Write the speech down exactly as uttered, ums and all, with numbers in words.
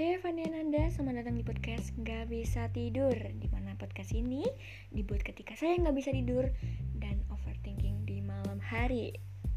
Saya Fania Nanda, selamat datang di podcast Gak Bisa Tidur, dimana podcast ini dibuat ketika saya gak bisa tidur dan overthinking di malam hari.